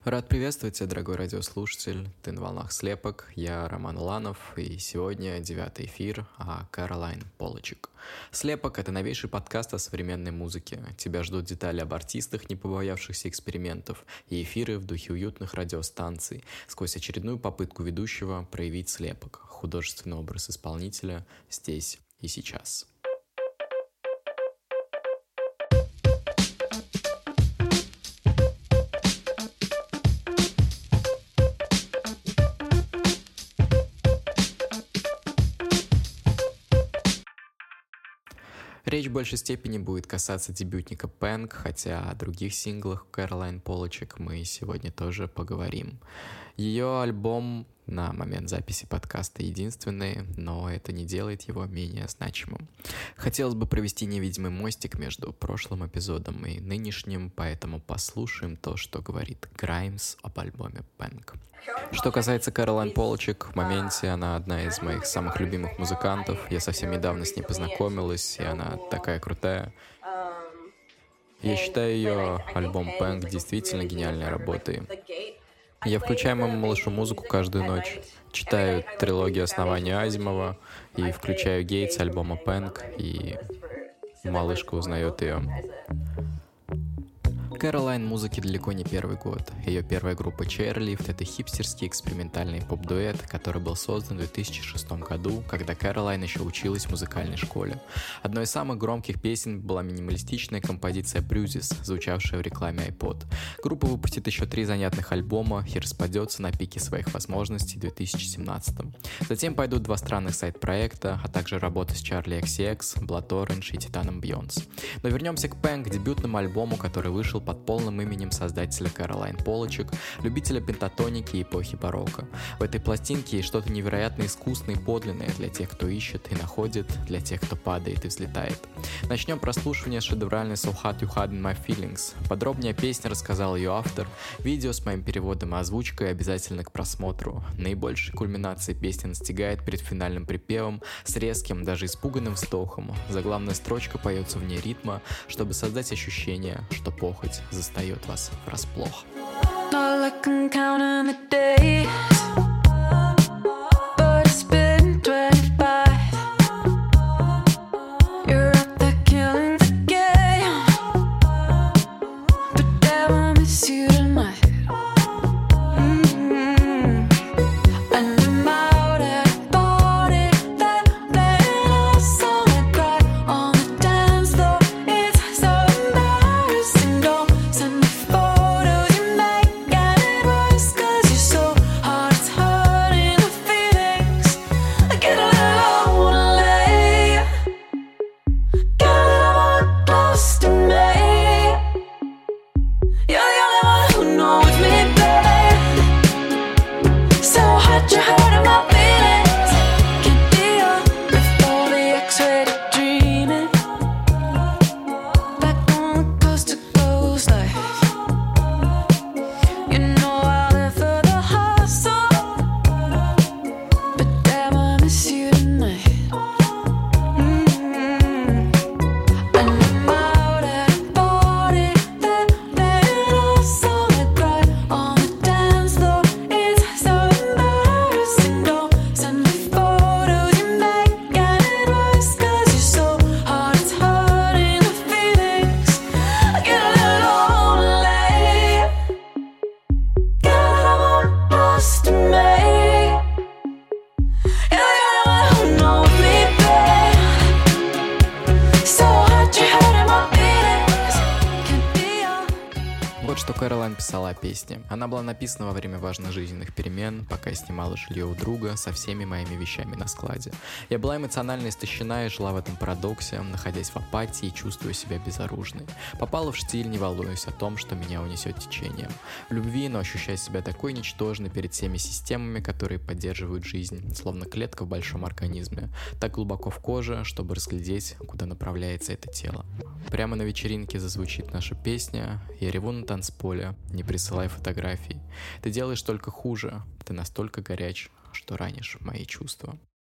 Рад приветствовать тебя, дорогой радиослушатель. Ты на волнах слепок, я Роман Уланов, и сегодня 9-й эфир о Кэролайн Полачек. Слепок — это новейший подкаст о современной музыке. Тебя ждут детали об артистах, не побоявшихся экспериментов, и эфиры в духе уютных радиостанций, сквозь очередную попытку ведущего проявить слепок, художественный образ исполнителя здесь и сейчас. Речь в большей степени будет касаться дебютника Peng, хотя о других синглах Кэролайн Полачек мы сегодня тоже поговорим. Ее альбом на момент записи подкаста единственный, но это не делает его менее значимым. Хотелось бы провести невидимый мостик между прошлым эпизодом и нынешним, поэтому послушаем то, что говорит Граймс об альбоме Peng. Что касается Кэролайн Полачек, в моменте она одна из моих самых любимых музыкантов. Я совсем недавно с ней познакомилась, и она такая крутая. Я считаю ее альбом Peng действительно гениальной работой. Я включаю моему малышу музыку каждую ночь, читаю трилогию «Основания» Азимова и включаю «Гейтс» альбома Peng, и малышка узнает ее. Кэролайн музыке далеко не первый год. Ее первая группа Chairlift — это хипстерский экспериментальный поп-дуэт, который был создан в 2006 году, когда Кэролайн еще училась в музыкальной школе. Одной из самых громких песен была минималистичная композиция Bruises, звучавшая в рекламе iPod. Группа выпустит еще 3 занятных альбома и распадется на пике своих возможностей в 2017. Затем пойдут 2 странных сайт-проекта, а также работы с Charli XCX, Blood Orange и Титаном Бьонс. Но вернемся к Peng, дебютному альбому, который вышел под полным именем создателя Кэролайн Полачек, любителя пентатоники и эпохи барокко. В этой пластинке есть что-то невероятно искусное и подлинное для тех, кто ищет и находит, для тех, кто падает и взлетает. Начнем прослушивание с шедевральной So Hard You Had In My Feelings. Подробнее о песне рассказал ее автор. Видео с моим переводом и озвучкой обязательно к просмотру. Наибольшей кульминацией песня настигает перед финальным припевом с резким, даже испуганным вздохом. Заглавная строчка поется вне ритма, чтобы создать ощущение, что похоть застает вас врасплох. Кэролайн писала о песне. Она была написана во время важных жизненных перемен, пока я снимала жилье у друга со всеми моими вещами на складе. Я была эмоционально истощена и жила в этом парадоксе, находясь в апатии и чувствуя себя безоружной. Попала в штиль, не волнуясь о том, что меня унесет течением. В любви, но ощущая себя такой ничтожной перед всеми системами, которые поддерживают жизнь, словно клетка в большом организме, так глубоко в коже, чтобы разглядеть, куда направляется это тело. Прямо на вечеринке зазвучит наша песня, я реву на танцполе, не присылай фотографий. Ты делаешь только хуже, ты настолько горяч, что ранишь мои чувства.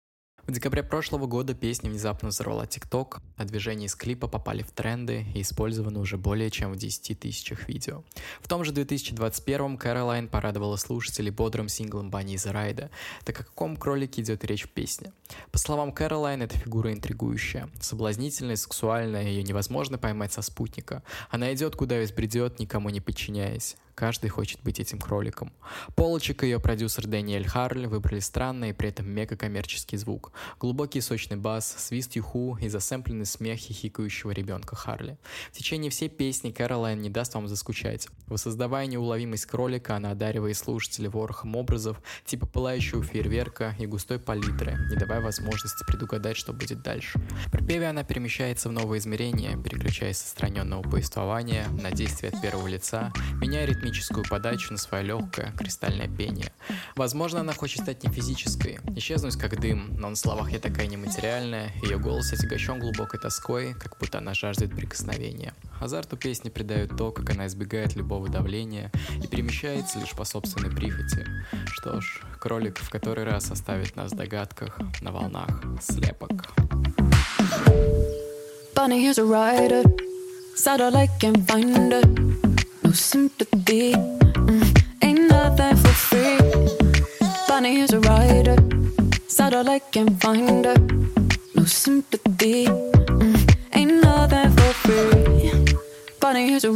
В декабре прошлого года песня внезапно взорвала TikTok, а движения из клипа попали в тренды и использованы уже более чем в 10 тысячах видео. В том же 2021-м Caroline порадовала слушателей бодрым синглом Bunny is a Rider. Так о каком кролике идет речь в песне? По словам Caroline, эта фигура интригующая, соблазнительная, сексуальная, ее невозможно поймать со спутника. Она идет, куда весь бредет, никому не подчиняясь. Каждый хочет быть этим кроликом. Полочек и ее продюсер Дэниэль Харль выбрали странный и при этом мега-коммерческий звук. Глубокий сочный бас, свист юху и засэмпленный смех хихикающего ребенка Харли. В течение всей песни Caroline не даст вам заскучать. Воссоздавая неуловимость кролика, она одаривает слушателей ворохом образов, типа пылающего фейерверка и густой палитры, не давая возможности предугадать, что будет дальше. В припеве она перемещается в новые измерения, переключаясь с отстраненного повествования на действия от первого лица, меняя ритмическую подачу на свое легкое, кристальное пение. Возможно, она хочет стать не физической, исчезнуть как дым, но на словах «я такая нематериальная», ее голос отягощен глубокой тоской, как будто она жаждет прикосновения. Азарту песни придает то, как она избегает любого давления и перемещается лишь по собственной прихоти. Что ж, кролик в который раз оставит нас в догадках, на волнах слепок. Bunny is a rider, satellite can find her. No sympathy, ain't nothing for free. Bunny is a rider, satellite can find her. No sympathy, ain't nothing for free. Bunny is a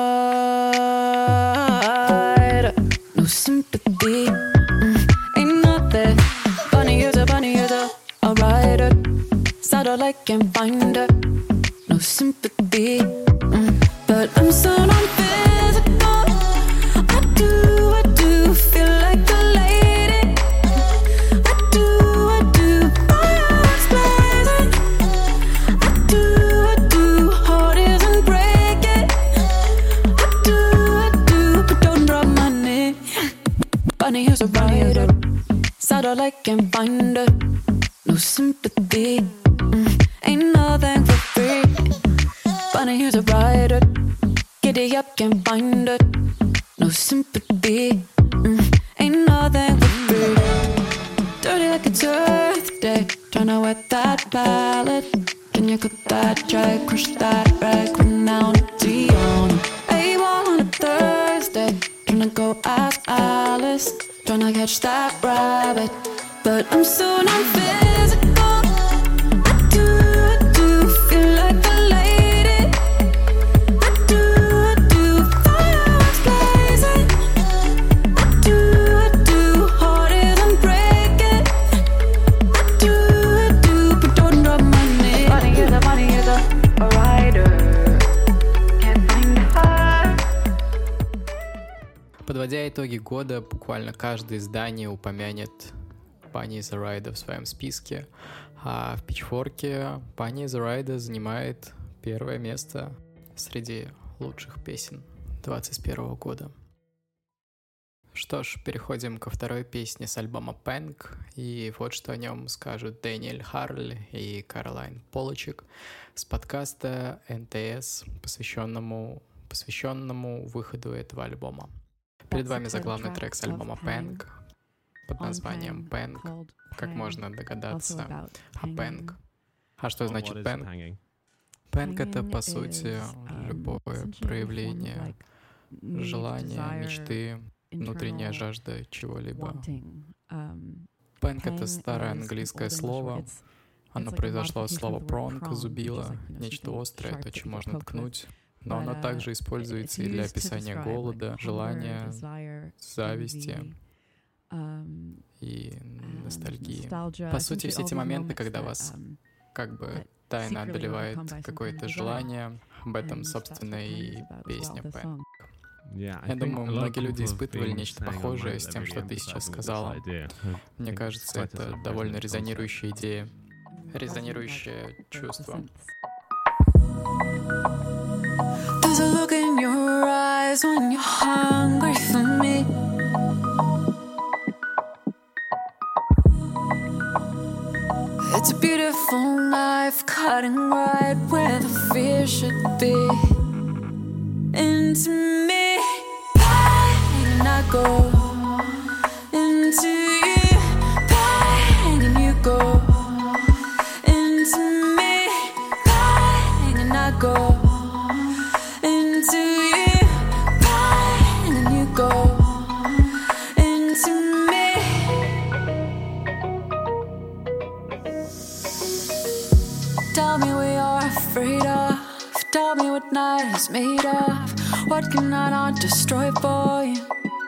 rider, no sympathy, ain't nothing. Bunny is a rider, satellite can find her. No sympathy, but I'm so non-physical. I do feel like a lady. I do, fireworks blazing. I do, heart isn't breaking. I do, but don't drop my knee. Bunny is a rider, satellite can find her. No sympathy, ain't nothing for free. Bunny is a rider, giddy up, can't find her. No sympathy, ain't nothing for free. Dirty like it's Earth Day, tryna wet that palette. Can you cut that dry, crush that rag, run out to Dion? A-ball on a Thursday, tryna go ask Alice, tryna catch that rabbit. But I'm so non-physical. I do feel like a lady. I do, fireworks blazing. I do, heart isn't breaking. I do, but don't drop my knee. Bunny is a rider, can't find her. Подводя итоги года, буквально каждое издание упомянет Bunny is a Rider в своем списке, а в Pitchfork'е Bunny is a Rider занимает первое место среди лучших песен 2021 года. Что ж, переходим ко второй песне с альбома Pink, и вот что о нем скажут Дэниэль Харль и Caroline Polachek с подкаста НТС, посвященному выходу этого альбома. Перед вами заглавный трек с альбома Pink под названием Pink. Как можно догадаться о Pink. А что значит Pink? Pink — это, по сути, любое проявление желания, мечты, внутренняя жажда чего-либо. Pink — это старое английское слово. Оно произошло от слова prong, зубило, нечто острое, то, чем можно ткнуть. Но оно также используется и для описания голода, желания, зависти и ностальгии. По сути, все эти моменты, когда вас как бы тайно одолевает какое-то желание, об этом, собственно, и песня Pink. Я думаю, многие люди испытывали нечто похожее с тем, что ты сейчас сказала. Мне кажется, это довольно резонирующая идея, резонирующее чувство. There's a look in your eyes when you're hungry for me. It's a beautiful knife cutting right where the fear should be. Into me, and I go into you, and you go is made of. What can I not destroy for you?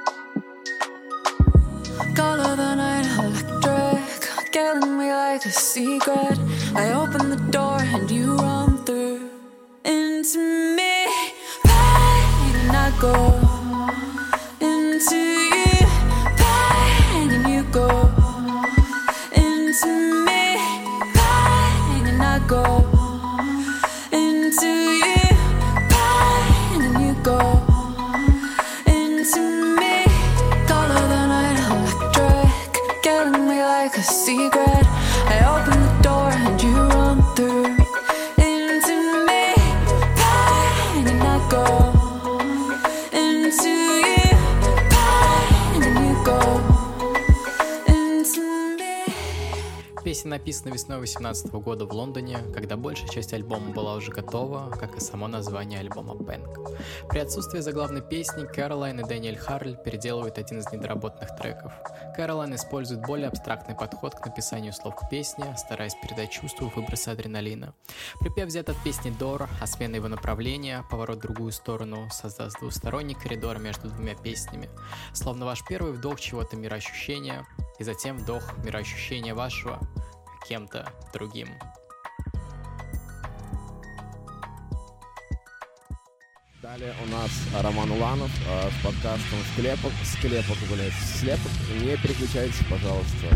Color the night electric, killing me like a secret. I open the door and you run through into me. Bang, and I go into you. Bang, and you go into me. Bang, and I go into you. Bang, and you go into me. Color the night electric, killing me like a secret. I open the door and you run through into me. Bang, and I go into you. Bang, and you go into me. Песня написана весной 2018 года в Лондоне, когда большая часть альбома была уже готова, как и само название альбома Bang. При отсутствии заглавной песни Кэролайн и Дэниэль Харль переделывают один из недоработанных треков. Кэролайн использует более абстрактный подход к написанию слов к песне, стараясь передать чувства выброса адреналина. Припев взят от песни Door, а смена его направления, поворот в другую сторону, создаст двусторонний коридор между двумя песнями. Словно ваш первый вдох чего-то мироощущения, и затем вдох мироощущения вашего кем-то другим. Далее у нас Роман Уланов с подкастом «Слепок». Не переключайтесь, пожалуйста.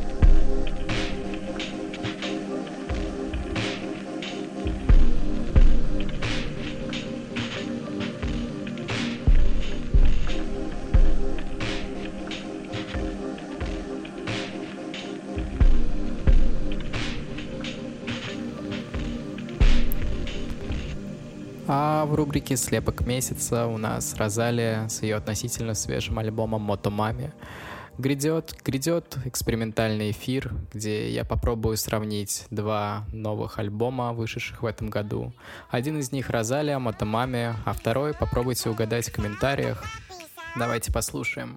А в рубрике «Слепок месяца» у нас Розалия с ее относительно свежим альбомом «Мотомами». Грядет экспериментальный эфир, где я попробую сравнить два новых альбома, вышедших в этом году. Один из них «Розалия», «Мотомами», а второй попробуйте угадать в комментариях. Давайте послушаем.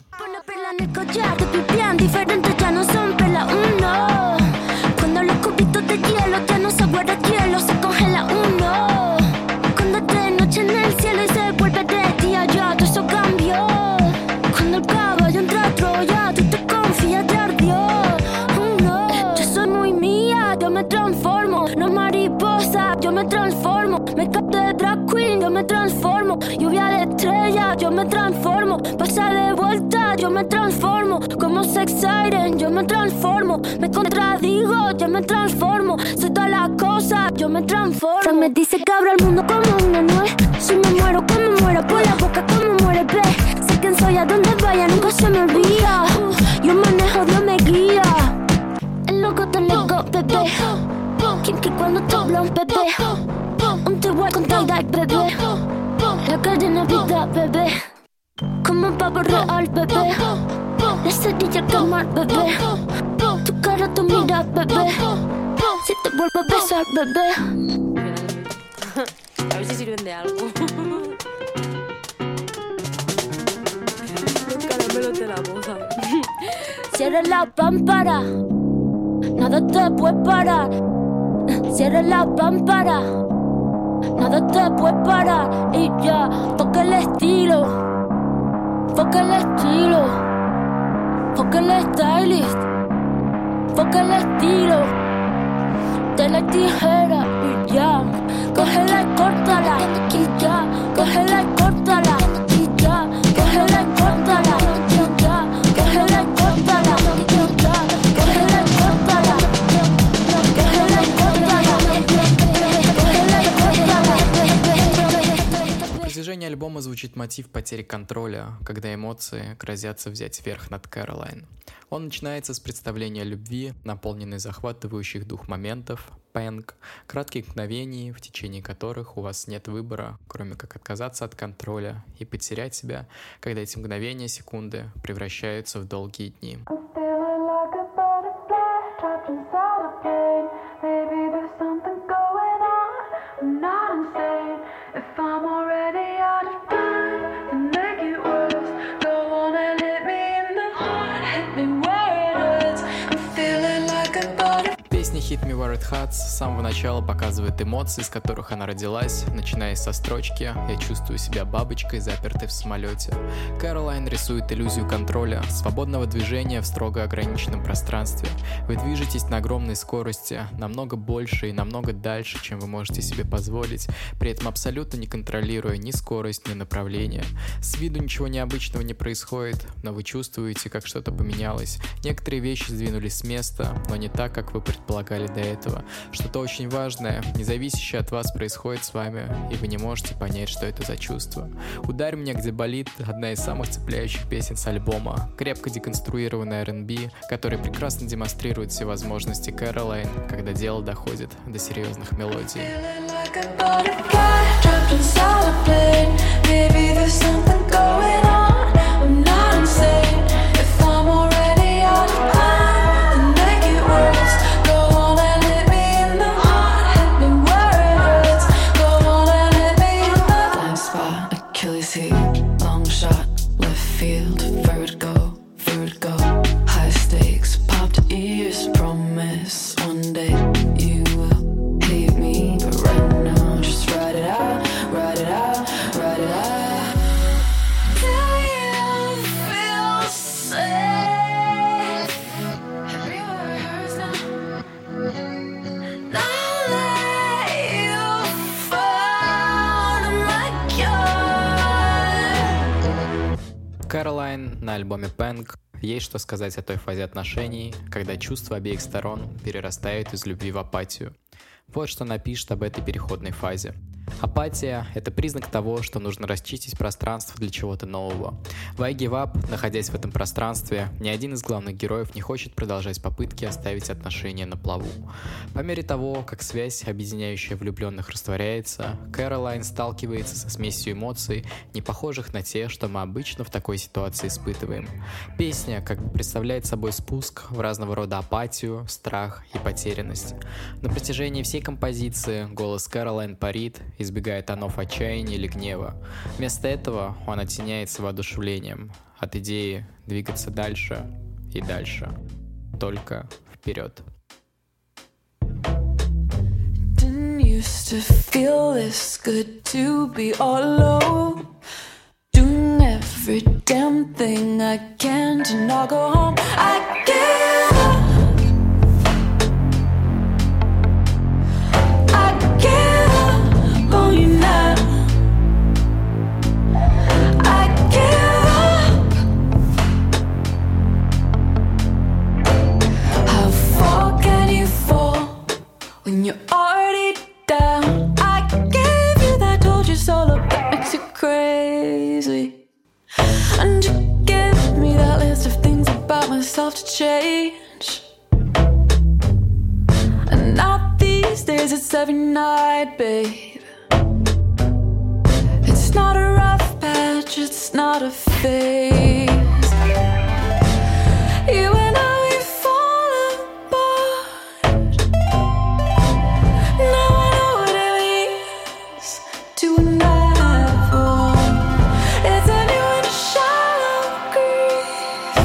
En el cielo y se vuelve de día, ya todo eso cambió. Cuando el caballo entra a Troya, tú te confías, te ardió. No, yo soy muy mía, yo me transformo. No mariposa, yo me transformo. Me capto de drag queen, yo me transformo. Lluvia de estrella, yo me transformo. Pasa de vuelta, yo me transformo. Como sex siren, yo me transformo. Me contradigo, yo me transformo. Soy todas las cosas, yo me transformo. Frank me dice que abro el mundo como una nuez. Si me muero, como muero, por la boca como muere, ve. Sé quién soy, a donde vaya, nunca se me olvida. Yo manejo, Dios me guía. El loco te lego, bebé. Kinky cuando te habla un bebé. Un igual con tie-dye, bebé. La cadena vida, bebé. Como un pavo real, bebé. La cerilla al quemar, bebé. Tu cara, tu mira, bebé. Si te vuelvo a besar, bebé. A ver si sirven de algo. Los caramelos de la boca. Cierra la pámpara, nada te puede parar. Cierra la pámpara, nada te puede parar. Y ya, toca el estilo, foca el estilo, foca el stylist, foca el estilo. De la tijera y ya, cógela y córtala. Y ya, cógela y córtala. Y ya, cógela y córtala. Y ya, cógela y córtala. Y ya, cógela y córtala. Cógela y córtala. Cógela y córtala. На протяжении альбома звучит мотив потери контроля, когда эмоции грозятся взять верх над Кэролайн. Он начинается с представления любви, наполненной захватывающих дух моментов, Bang, кратких мгновений, в течение которых у вас нет выбора, кроме как отказаться от контроля и потерять себя, когда эти мгновения, секунды превращаются в долгие дни. Hit Me Where It Hurts с самого начала показывает эмоции, из которых она родилась, начиная со строчки «Я чувствую себя бабочкой, запертой в самолете». Кэролайн рисует иллюзию контроля, свободного движения в строго ограниченном пространстве. Вы движетесь на огромной скорости, намного больше и намного дальше, чем вы можете себе позволить, при этом абсолютно не контролируя ни скорость, ни направление. С виду ничего необычного не происходит, но вы чувствуете, как что-то поменялось. Некоторые вещи сдвинулись с места, но не так, как вы предполагали до этого. Что-то очень важное, независящее от вас, происходит с вами, и вы не можете понять, что это за чувство. «Ударь меня, где болит» — одна из самых цепляющих песен с альбома. Крепко деконструированный R&B, который прекрасно демонстрирует все возможности Кэролайн, когда дело доходит до серьезных мелодий. Кэролайн на альбоме Pink есть что сказать о той фазе отношений, когда чувства обеих сторон перерастают из любви в апатию. Вот что она пишет об этой переходной фазе. Апатия – это признак того, что нужно расчистить пространство для чего-то нового. В I Give Up, находясь в этом пространстве, ни один из главных героев не хочет продолжать попытки оставить отношения на плаву. По мере того, как связь, объединяющая влюбленных, растворяется, Кэролайн сталкивается со смесью эмоций, не похожих на те, что мы обычно в такой ситуации испытываем. Песня как бы представляет собой спуск в разного рода апатию, страх и потерянность. На протяжении всей композиции голос Кэролайн парит, избегая тонов отчаяния или гнева. Вместо этого он оттеняется воодушевлением от идеи двигаться дальше и дальше. Только вперед. Didn't used to feel this good to be all alone, doing every damn thing I can to not go home. I give up. When you're already down, I gave you that, told you so, look, that makes you crazy. And you give me that list of things about myself to change. And now these days it's every night, babe. It's not a rough patch, it's not a phase. You and I, we fall apart. Now I know what it means to never. It's a new and shallow grief,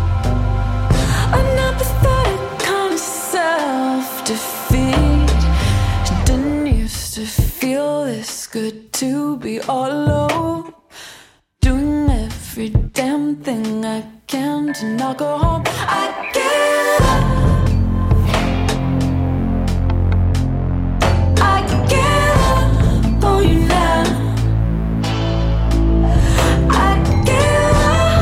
an apathetic kind of self-defeat. It didn't used to feel this good to be all alone, doing every damn thing I can to not go home. I give up. I give up on you now. I give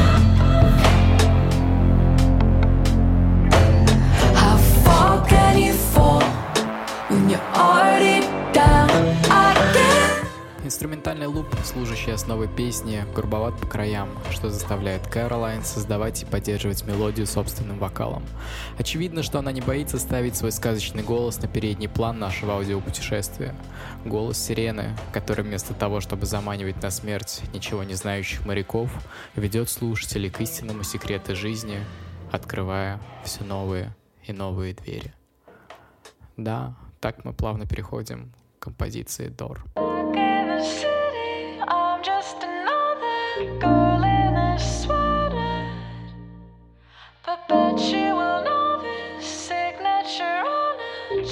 up. How far can you fall when you're already down? I give. Инструментальный луп, служащий основой песни, грубоват по краям, что заставляет Кэролайн создавать и поддерживать мелодию собственным вокалом. Очевидно, что она не боится ставить свой сказочный голос на передний план нашего аудиопутешествия. Голос сирены, который вместо того, чтобы заманивать на смерть ничего не знающих моряков, ведет слушателей к истинному секрету жизни, открывая все новые и новые двери. Да, так мы плавно переходим к композиции Door. City, I'm just another girl in a sweater, perpetual novice, signature on a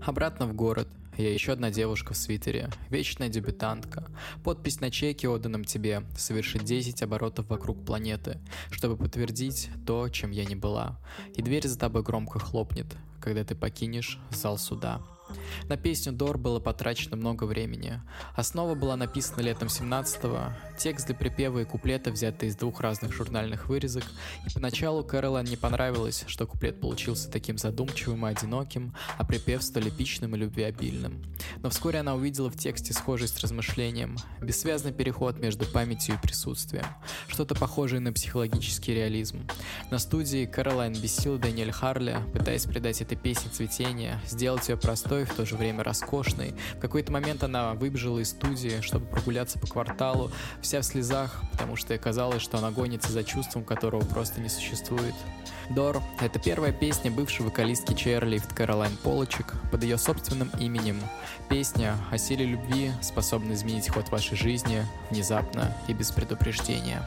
Обратно в город. Я еще одна девушка в свитере, вечная дебютантка. Подпись на чеке, отданном тебе, совершит 10 оборотов вокруг планеты, чтобы подтвердить то, чем я не была. И дверь за тобой громко хлопнет, когда ты покинешь зал суда. На песню Door было потрачено много времени. Основа была написана летом 17-го, текст для припева и куплета взяты из 2 разных журнальных вырезок, и поначалу Кэролайн не понравилось, что куплет получился таким задумчивым и одиноким, а припев столь эпичным и любвеобильным. Но вскоре она увидела в тексте схожесть с размышлением, бессвязный переход между памятью и присутствием, что-то похожее на психологический реализм. На студии Кэролайн бесила Даниэль Харли, пытаясь придать этой песне цветение, сделать ее простой, в то же время роскошной. В какой-то момент она выбежала из студии, чтобы прогуляться по кварталу, вся в слезах, потому что ей казалось, что она гонится за чувством, которого просто не существует. Door — это первая песня бывшей вокалистки Чейрлифт Кэролайн Полочек под ее собственным именем. Песня о силе любви, способной изменить ход вашей жизни внезапно и без предупреждения.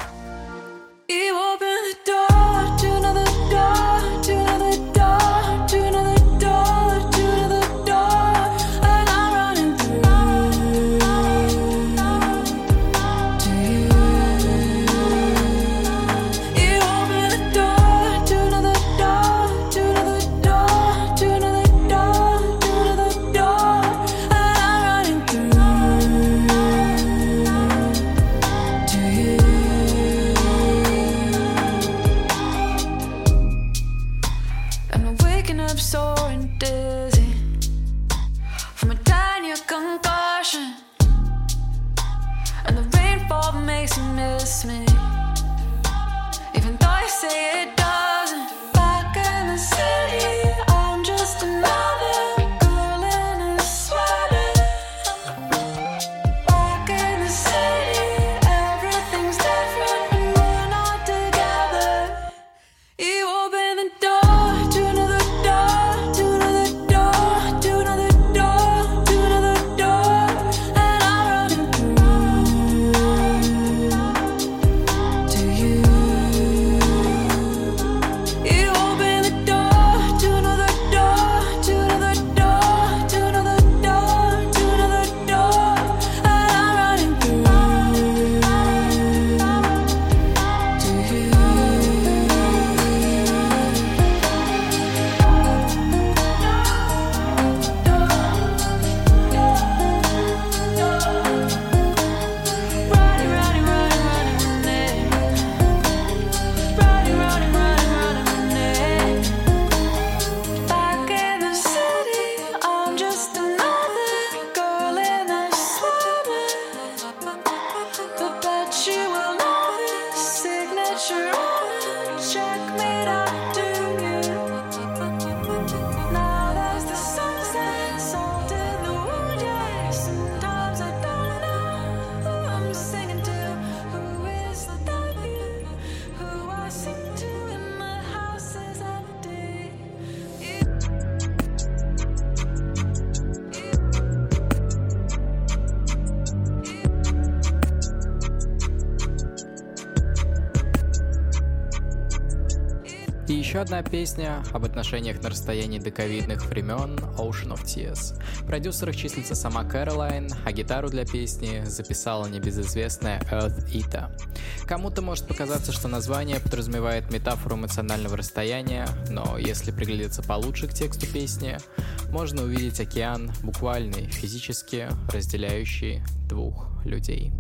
И еще одна песня об отношениях на расстоянии до ковидных времен Ocean of Tears. В продюсерах числится сама Кэролайн, а гитару для песни записала небезызвестная Earth Eater. Кому-то может показаться, что название подразумевает метафору эмоционального расстояния, но если приглядеться получше к тексту песни, можно увидеть океан, буквальный, физически разделяющий 2 людей.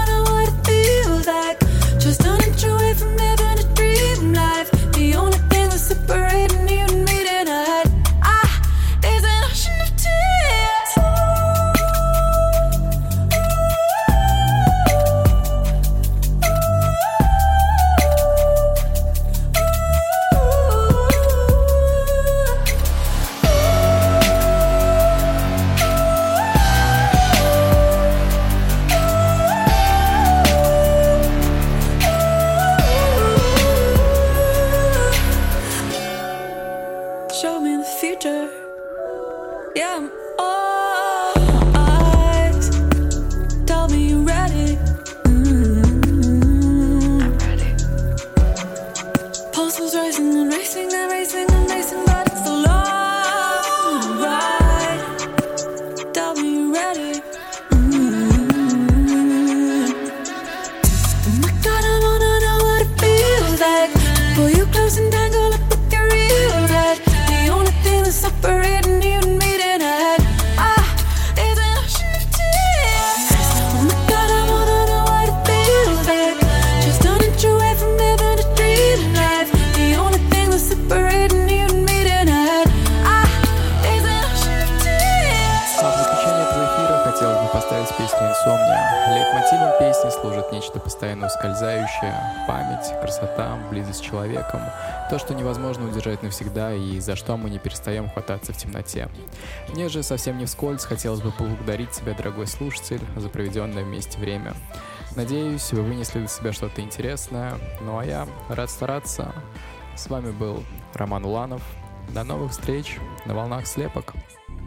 The only thing Yeah, I'm all eyes. Tell me you're ready. Pulse was racing and racing and racing and racing, but it's a long ride. Tell me you're ready. Oh my God, I wanna know what it feels like. Pull you close and tangle up with your real head. The only thing that's separating you and me tonight is an ocean of tears. Oh my God, I wanna know what it feels like. Just an inch away from living a dream life. The only thing that's separating you and me tonight is an ocean of tears. В заключение этого эфира хотелось бы поставить песню «Инсомния». Лейтмотивом песни служит нечто постоянно ускользающее, память, красота, близость с человеком, то, что невозможно удержать навсегда и за что мы не перестаем хвататься в темноте. Мне же совсем не вскользь хотелось бы поблагодарить тебя, дорогой слушатель, за проведенное вместе время. Надеюсь, вы вынесли для себя что-то интересное, ну а я рад стараться. С вами был Роман Уланов. До новых встреч на волнах слепок.